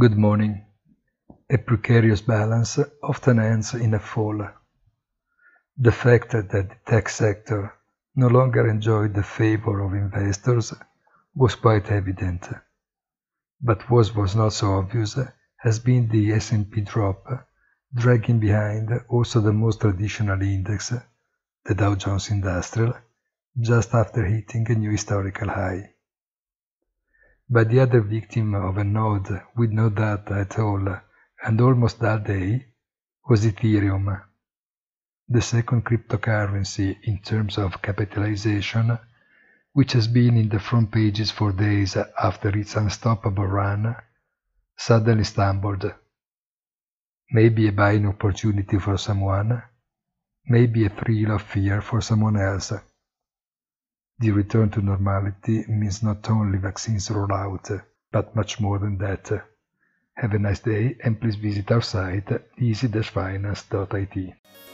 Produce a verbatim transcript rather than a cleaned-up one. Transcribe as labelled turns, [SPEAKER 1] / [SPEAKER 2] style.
[SPEAKER 1] Good morning. A precarious balance often ends in a fall. The fact that the tech sector no longer enjoyed the favor of investors was quite evident. But what was not so obvious has been the S and P drop, dragging behind also the most traditional index, the Dow Jones Industrial, just after hitting a new historical high. But the other victim of a node with no data at all and almost all day was Ethereum, the second cryptocurrency in terms of capitalization, which has been in the front pages for days after its unstoppable run, suddenly stumbled. Maybe a buying opportunity for someone, maybe a thrill of fear for someone else. The return to normality means not only vaccines rollout, but much more than that. Have a nice day and please visit our site easy dash finance dot I T.